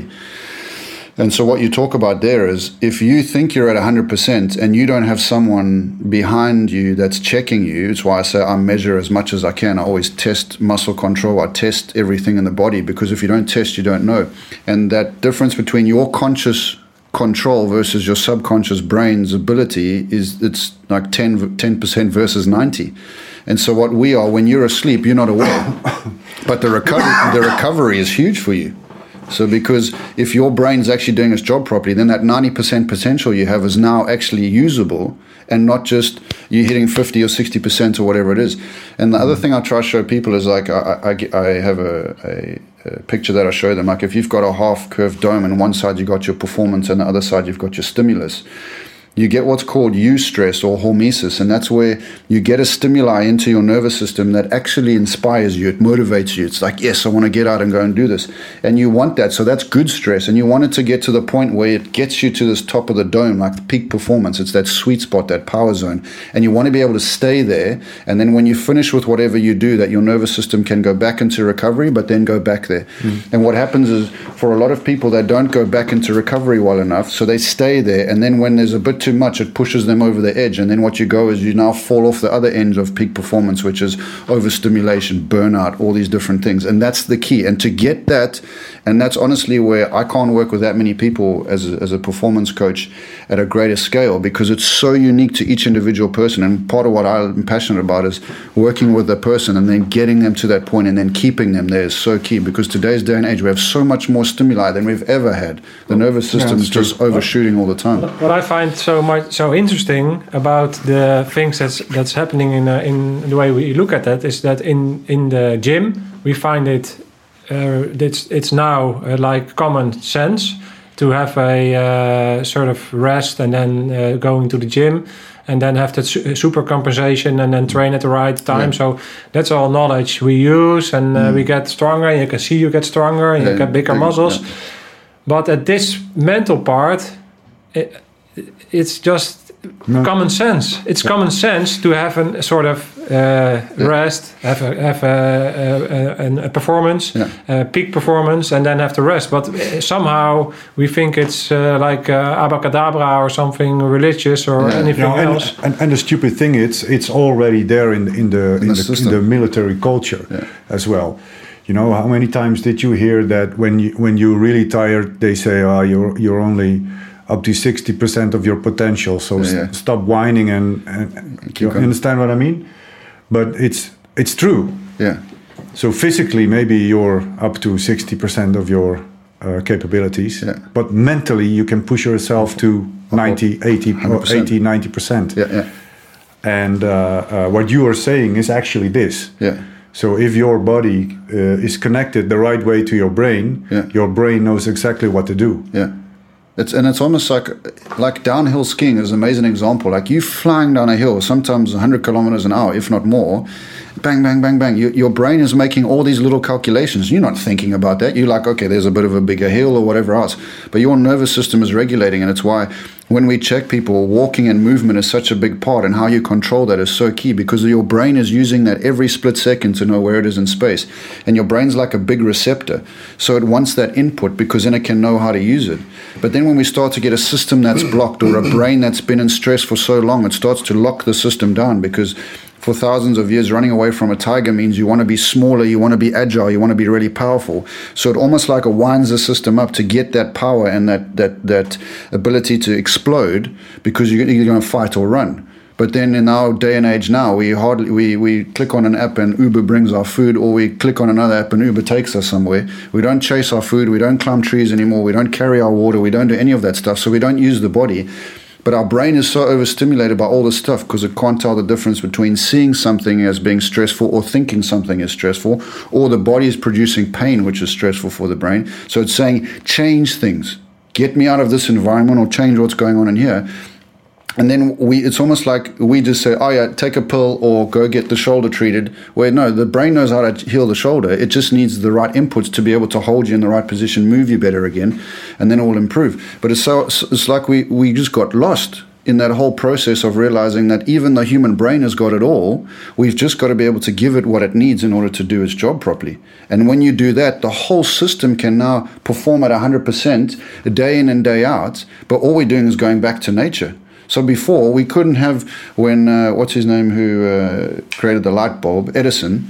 And so what you talk about there is if you think you're at 100% and you don't have someone behind you that's checking you, it's why I say I measure as much as I can. I always test muscle control. I test everything in the body, because if you don't test, you don't know. And that difference between your conscious control versus your subconscious brain's ability it's like 10% versus 90. And so what we are, when you're asleep, you're not aware. But the recovery is huge for you. So because if your brain's actually doing its job properly, then that 90% potential you have is now actually usable, and not just you hitting 50 or 60% or whatever it is. And the other thing I try to show people is like I have a picture that I show them. Like if you've got a half-curved dome and one side you've got your performance and the other side you've got your stimulus, you get what's called eustress or hormesis, and that's where you get a stimuli into your nervous system that actually inspires you, it motivates you. It's like, yes, I want to get out and go and do this. And you want that, so that's good stress, and you want it to get to the point where it gets you to this top of the dome, like the peak performance. It's that sweet spot, that power zone, and you want to be able to stay there, and then when you finish with whatever you do, that your nervous system can go back into recovery, but then go back there. And what happens is, for a lot of people, they don't go back into recovery well enough, so they stay there, and then when there's a bit too much, it pushes them over the edge, and then what you go is you now fall off the other end of peak performance, which is overstimulation, burnout, all these different things. And that's the key. And to get that, and that's honestly where I can't work with that many people as a performance coach at a greater scale, because it's so unique to each individual person. And part of what I'm passionate about is working with the person and then getting them to that point and then keeping them there is so key, because today's day and age we have so much more stimuli than we've ever had. The nervous system is just overshooting all the time. What I find so interesting about the things that's happening in the way we look at that is that in the gym we find it's now like common sense to have a sort of rest and then going to the gym and then have that super compensation and then train at the right time. Yeah. So that's all knowledge we use, and we get stronger, and you can see you get stronger and you get bigger muscles. Yeah. But at this mental part, it's just common sense. It's common sense to have a sort of rest, have a performance, peak performance, and then have the rest. But somehow we think it's like abracadabra or something religious or anything else. And the stupid thing, it's already there in the military culture as well. You know, how many times did you hear that when you're really tired, they say, "Oh, you're only up to 60% of your potential, so stop whining and you understand what I mean?" But it's true. Yeah. So physically, maybe you're up to 60% of your capabilities, but mentally you can push yourself to 90, 80, 90%. Yeah. And what you are saying is actually this. Yeah. So if your body is connected the right way to your brain knows exactly what to do. Yeah. It's almost like downhill skiing is an amazing example. Like you flying down a hill, sometimes 100 kilometers an hour, if not more, bang, bang, bang, bang. Your brain is making all these little calculations. You're not thinking about that. You're like, okay, there's a bit of a bigger hill or whatever else. But your nervous system is regulating, and it's why when we check people, walking and movement is such a big part, and how you control that is so key, because your brain is using that every split second to know where it is in space. And your brain's like a big receptor. So it wants that input because then it can know how to use it. But then when we start to get a system that's blocked, or a brain that's been in stress for so long, it starts to lock the system down, because for thousands of years, running away from a tiger means you want to be smaller, you want to be agile, you want to be really powerful. So it almost like it winds the system up to get that power and that ability to explode, because you're going to fight or run. But then in our day and age now, we click on an app and Uber brings our food, or we click on another app and Uber takes us somewhere. We don't chase our food, we don't climb trees anymore, we don't carry our water, we don't do any of that stuff, so we don't use the body. But our brain is so overstimulated by all this stuff because it can't tell the difference between seeing something as being stressful or thinking something is stressful, or the body is producing pain, which is stressful for the brain. So it's saying, change things. Get me out of this environment or change what's going on in here. And then it's almost like we just say, oh yeah, take a pill or go get the shoulder treated. Where no, the brain knows how to heal the shoulder. It just needs the right inputs to be able to hold you in the right position, move you better again, and then it will improve. But it's like we just got lost in that whole process of realizing that even the human brain has got it all, we've just got to be able to give it what it needs in order to do its job properly. And when you do that, the whole system can now perform at 100% day in and day out, but all we're doing is going back to nature. So before, we couldn't have, when, what's his name, who created the light bulb, Edison,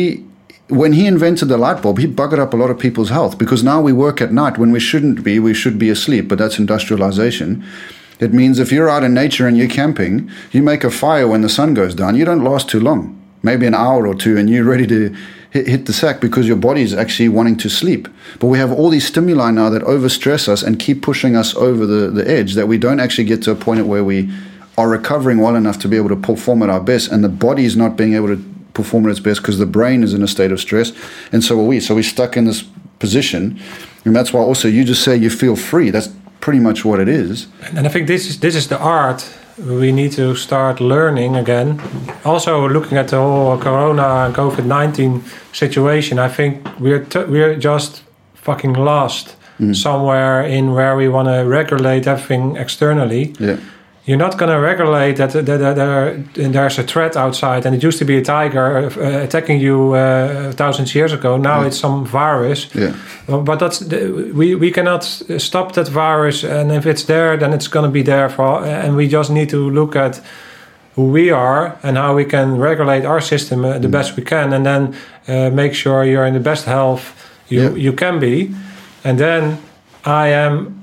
when he invented the light bulb, he buggered up a lot of people's health, because now we work at night when we shouldn't be, we should be asleep, but that's industrialization. It means if you're out in nature and you're camping, you make a fire when the sun goes down, you don't last too long, maybe an hour or two, and you're ready to hit the sack because your body is actually wanting to sleep. But we have all these stimuli now that overstress us and keep pushing us over the edge, that we don't actually get to a point where we are recovering well enough to be able to perform at our best, and the body is not being able to perform at its best because the brain is in a state of stress, and so are we. So we're stuck in this position, and that's why also you just say you feel free. That's pretty much what it is. And I think this is the art we need to start learning again. Also, looking at the whole Corona and COVID-19 situation, I think we're just fucking lost somewhere in where we want to regulate everything externally. Yeah. You're not going to regulate that there's a threat outside, and it used to be a tiger attacking you thousands of years ago. Now it's some virus. Yeah. But we cannot stop that virus, and if it's there, then it's going to be there and we just need to look at who we are and how we can regulate our system the best we can, and then make sure you're in the best health you can be. And then I am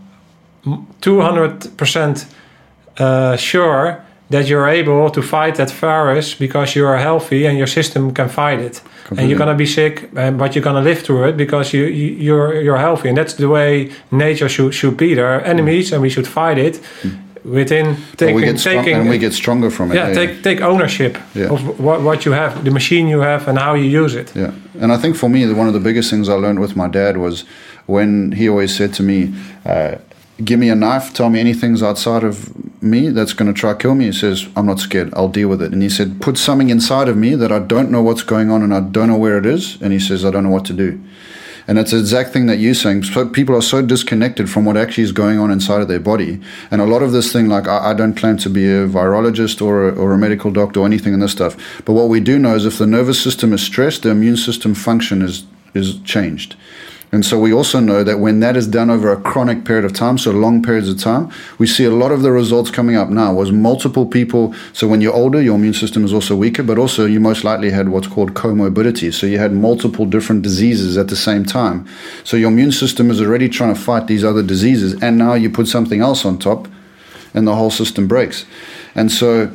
200% sure that you're able to fight that virus because you are healthy and your system can fight it. Completely. And you're going to be sick, but you're going to live through it because you're healthy. And that's the way nature should be. There are enemies, and we should fight it within taking. And we get stronger from it. Yeah, take ownership of what you have, the machine you have, and how you use it. Yeah, and I think for me, one of the biggest things I learned with my dad was when he always said to me, give me a knife, tell me anything's outside of me that's going to try to kill me. He says, I'm not scared, I'll deal with it. And he said, put something inside of me that I don't know what's going on and I don't know where it is. And he says, I don't know what to do. And it's the exact thing that you're saying. So people are so disconnected from what actually is going on inside of their body. And a lot of this thing, like I don't claim to be a virologist or a medical doctor or anything in this stuff. But what we do know is if the nervous system is stressed, the immune system function is changed. And so we also know that when that is done over a chronic period of time, so long periods of time, we see a lot of the results coming up now was multiple people. So when you're older, your immune system is also weaker, but also you most likely had what's called comorbidity. So you had multiple different diseases at the same time. So your immune system is already trying to fight these other diseases, and now you put something else on top, and the whole system breaks. And so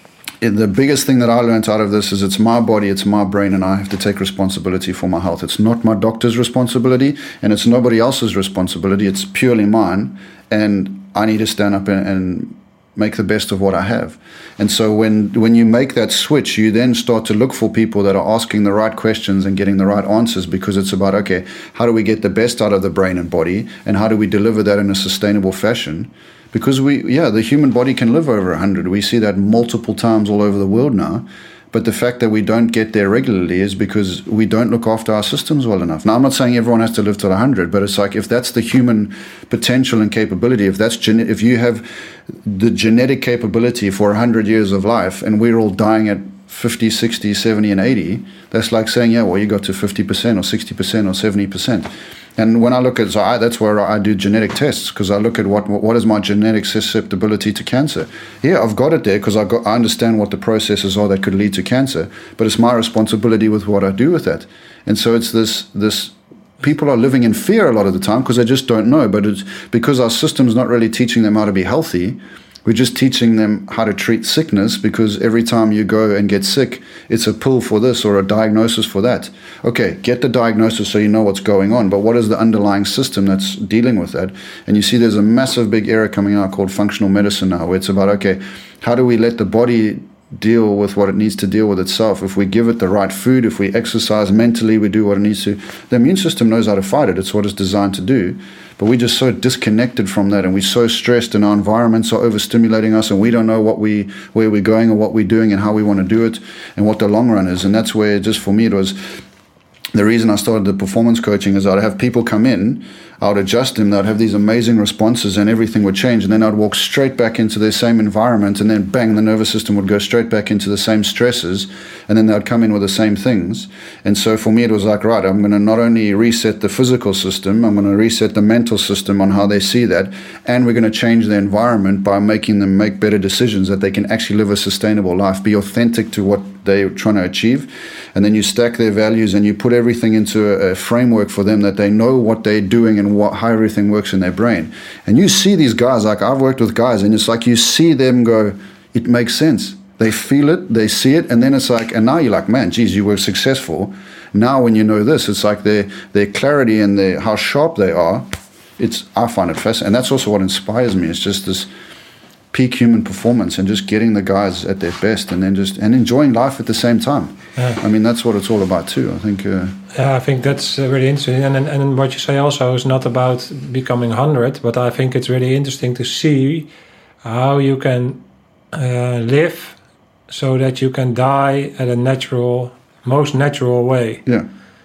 the biggest thing that I learned out of this is it's my body, it's my brain, and I have to take responsibility for my health. It's not my doctor's responsibility, and it's nobody else's responsibility. It's purely mine, and I need to stand up and make the best of what I have. And so when you make that switch, you then start to look for people that are asking the right questions and getting the right answers, because it's about, okay, how do we get the best out of the brain and body, and how do we deliver that in a sustainable fashion? Because the human body can live over 100. We see that multiple times all over the world now. But the fact that we don't get there regularly is because we don't look after our systems well enough. Now, I'm not saying everyone has to live till 100, but it's like if that's the human potential and capability, if you have the genetic capability for 100 years of life and we're all dying at 50, 60, 70, and 80, that's like saying, you got to 50% or 60% or 70%. And when I look at, that's where I do genetic tests, because I look at what is my genetic susceptibility to cancer. Yeah, I've got it there because I understand what the processes are that could lead to cancer, but it's my responsibility with what I do with that. And so it's this people are living in fear a lot of the time because they just don't know, but it's because our system's not really teaching them how to be healthy. We're just teaching them how to treat sickness, because every time you go and get sick, it's a pill for this or a diagnosis for that. Okay, get the diagnosis so you know what's going on, but what is the underlying system that's dealing with that? And you see there's a massive big era coming out called functional medicine now, where it's about, okay, how do we let the body deal with what it needs to deal with itself? If we give it the right food, if we exercise mentally, we do what it needs to, the immune system knows how to fight it. It's what it's designed to do. But we're just so disconnected from that, and we're so stressed, and our environments are overstimulating us, and we don't know where we're going or what we're doing and how we want to do it and what the long run is. And that's where, just for me, it was the reason I started the performance coaching, is I'd have people come in, I would adjust them, they'd have these amazing responses and everything would change, and then I'd walk straight back into their same environment, and then bang, the nervous system would go straight back into the same stresses, and then they'd come in with the same things. And so for me it was like, right, I'm going to not only reset the physical system, I'm going to reset the mental system on how they see that, and we're going to change their environment by making them make better decisions, that they can actually live a sustainable life, be authentic to what they're trying to achieve. And then you stack their values and you put everything into a framework for them, that they know what they're doing and how everything works in their brain. And you see these guys, like I've worked with guys, and it's like you see them go, it makes sense. They feel it, they see it, and then it's like, and now you're like, man, geez, you were successful. Now when you know this, it's like their clarity and how sharp they are. I find it fascinating. And that's also what inspires me. It's just this peak human performance, and just getting the guys at their best, and then and enjoying life at the same time. Yeah. I mean, that's what it's all about too, I think. I think that's really interesting. And what you say also is not about becoming 100, but I think it's really interesting to see how you can live so that you can die at a most natural way. Yeah.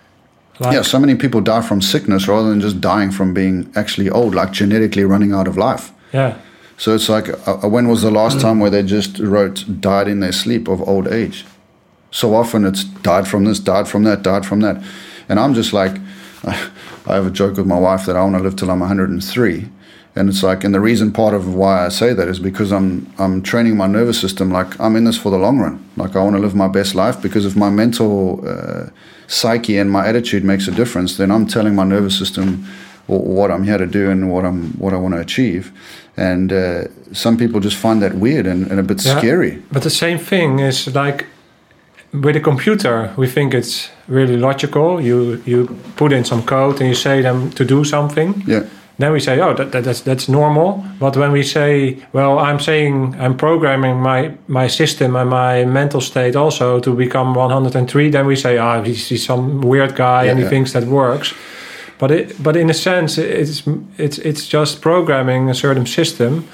So many people die from sickness rather than just dying from being actually old, like genetically running out of life. Yeah. So it's like, when was the last time where they just wrote died in their sleep of old age? So often it's died from this, died from that, died from that. And I'm just like, I have a joke with my wife that I want to live till I'm 103. And it's like, and the reason part of why I say that is because I'm training my nervous system, like I'm in this for the long run. Like I want to live my best life, because if my mental psyche and my attitude makes a difference, then I'm telling my nervous system what I'm here to do and what I want to achieve. And some people just find that weird and a bit scary. But the same thing is like with a computer, we think it's really logical. You put in some code and you say them to do something. Yeah. Then we say, oh, that's normal. But when we say, well, I'm programming my system and my mental state also to become 103, then we say, he's some weird guy and he thinks that works. But in a sense, it's just programming a certain system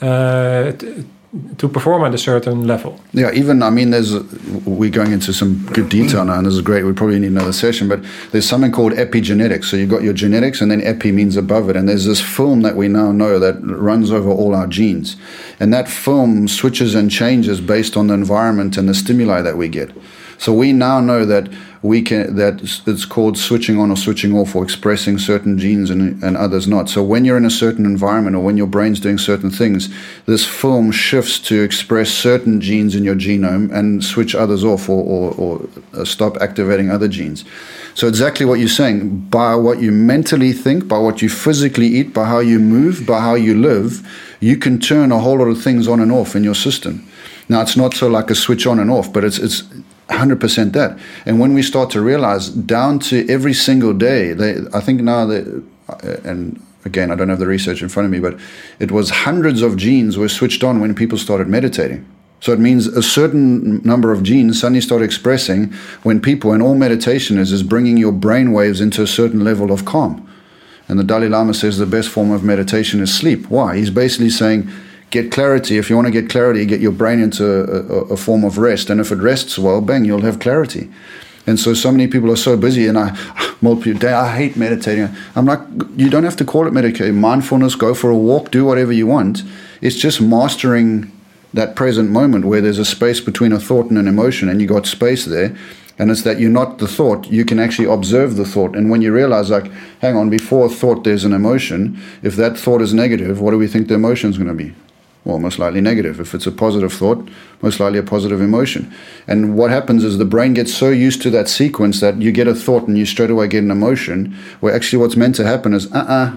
to perform at a certain level. Yeah, even, I mean, we're going into some good detail now, and this is great. We probably need another session, but there's something called epigenetics. So you've got your genetics, and then epi means above it. And there's this film that we now know that runs over all our genes. And that film switches and changes based on the environment and the stimuli that we get. So we now know that it's called switching on or switching off, or expressing certain genes and others not. So when you're in a certain environment, or when your brain's doing certain things, this film shifts to express certain genes in your genome and switch others off, or stop activating other genes. So exactly what you're saying, by what you mentally think, by what you physically eat, by how you move, by how you live, you can turn a whole lot of things on and off in your system. Now, it's not so like a switch on and off, but it's 100% that. And when we start to realize down to every single day, I think now that, and again, I don't have the research in front of me, but it was hundreds of genes were switched on when people started meditating. So it means a certain number of genes suddenly start expressing when people, and all meditation is bringing your brain waves into a certain level of calm. And the Dalai Lama says the best form of meditation is sleep. Why? He's basically saying, get clarity. If you want to get clarity, get your brain into a form of rest. And if it rests well, bang, you'll have clarity. And so many people are so busy, and I hate meditating. I'm like, you don't have to call it meditation. Mindfulness, go for a walk, do whatever you want. It's just mastering that present moment where there's a space between a thought and an emotion, and you got space there. And it's that you're not the thought. You can actually observe the thought. And when you realize, like, hang on, before a thought, there's an emotion. If that thought is negative, what do we think the emotion is going to be? Well, most likely negative. If it's a positive thought, most likely a positive emotion. And what happens is the brain gets so used to that sequence that you get a thought and you straight away get an emotion, where actually what's meant to happen is,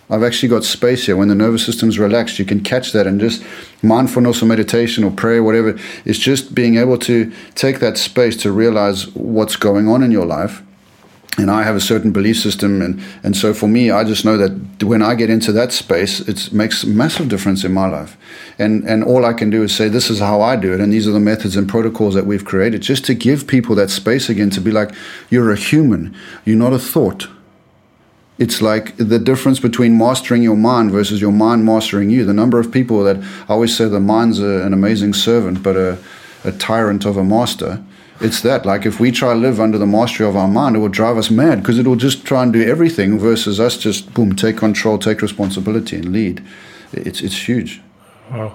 I've actually got space here. When the nervous system's relaxed, you can catch that, and just mindfulness or meditation or prayer, whatever, it's just being able to take that space to realize what's going on in your life. And I have a certain belief system, and so for me, I just know that when I get into that space, it makes a massive difference in my life. And all I can do is say, this is how I do it, and these are the methods and protocols that we've created, just to give people that space again to be like, you're a human, you're not a thought. It's like the difference between mastering your mind versus your mind mastering you. The number of people that I always say the mind's an amazing servant, but a tyrant of a master. It's that, like, if we try to live under the mastery of our mind, it will drive us mad, because it will just try and do everything versus us just, boom, take control, take responsibility and lead. It's huge. Wow.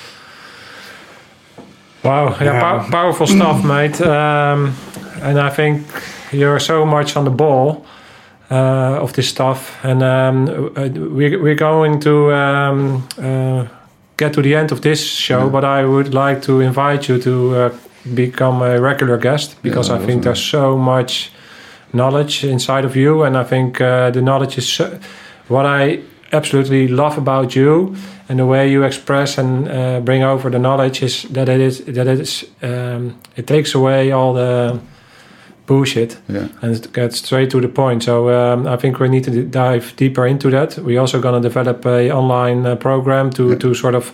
Wow, yeah. Powerful stuff, mate. And I think you're so much on the ball of this stuff. And we're going to get to the end of this show, but I would like to invite you to become a regular guest, because I think there's so much knowledge inside of you, and I think the knowledge is what I absolutely love about you, and the way you express and bring over the knowledge is that it takes away all the bullshit and it gets straight to the point. So I think we need to dive deeper into that. We're also going to develop a online program to sort of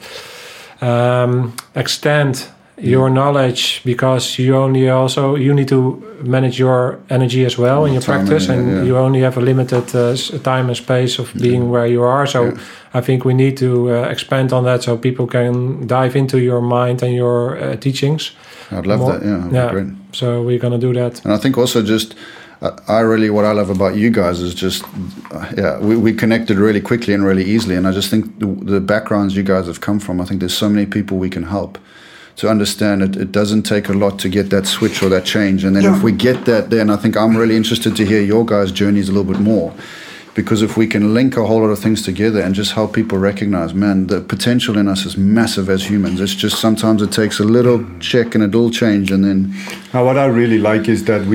extend your knowledge, because you need to manage your energy as well in your practice, and you only have a limited time and space of being where you are. So I think we need to expand on that so people can dive into your mind and your teachings. I'd love that. Yeah, great. So we're going to do that. And I think also just what I love about you guys is just we connected really quickly and really easily, and I just think the backgrounds you guys have come from, I think there's so many people we can help to understand it doesn't take a lot to get that switch or that change. And then if we get that, then I think I'm really interested to hear your guys' journeys a little bit more. Because if we can link a whole lot of things together and just help people recognize, man, the potential in us is massive as humans. It's just sometimes it takes a little check and a little change, and then... Now, what I really like is that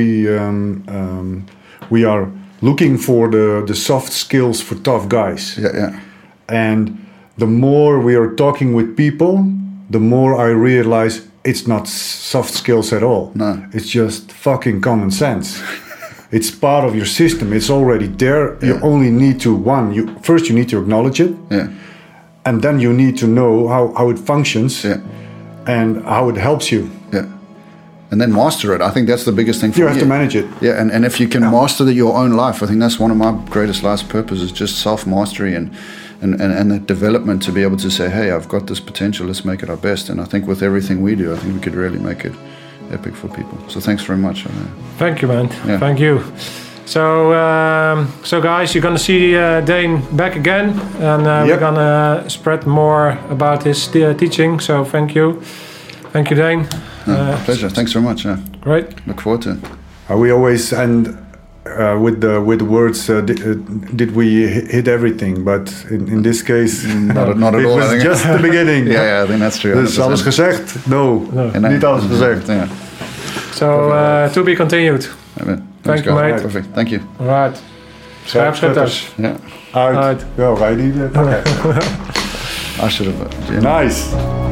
we are looking for the soft skills for tough guys. Yeah. And the more we are talking with people, the more I realize it's not soft skills at all. No. It's just fucking common sense. It's part of your system. It's already there. You only need to, first you need to acknowledge it. Yeah. And then you need to know how it functions and how it helps you. Yeah. And then master it. I think that's the biggest thing for you. You have to manage it. Yeah, and if you can master your own life, I think that's one of my greatest life's purposes, just self-mastery and the development to be able to say, hey, I've got this potential, let's make it our best. And I think with everything we do, I think we could really make it epic for people. So thanks very much. Thank you, man. Yeah. Thank you. So guys, you're going to see Dane back again, and we're going to spread more about his teaching. So thank you. Thank you, Dane. Pleasure. Thanks very much. Great. Look forward to it. We always end with the words, did we hit everything? But in this case, not at all. It was just the beginning. Yeah, I think that's true. Dus alles gezegd? No. Niet alles gezegd. Yeah. So to be continued. Thank you, mate. Perfect. Thank you. All right. Scherpschutters. Yeah. Uit. Ja, wij niet. Okay. I should have. Nice.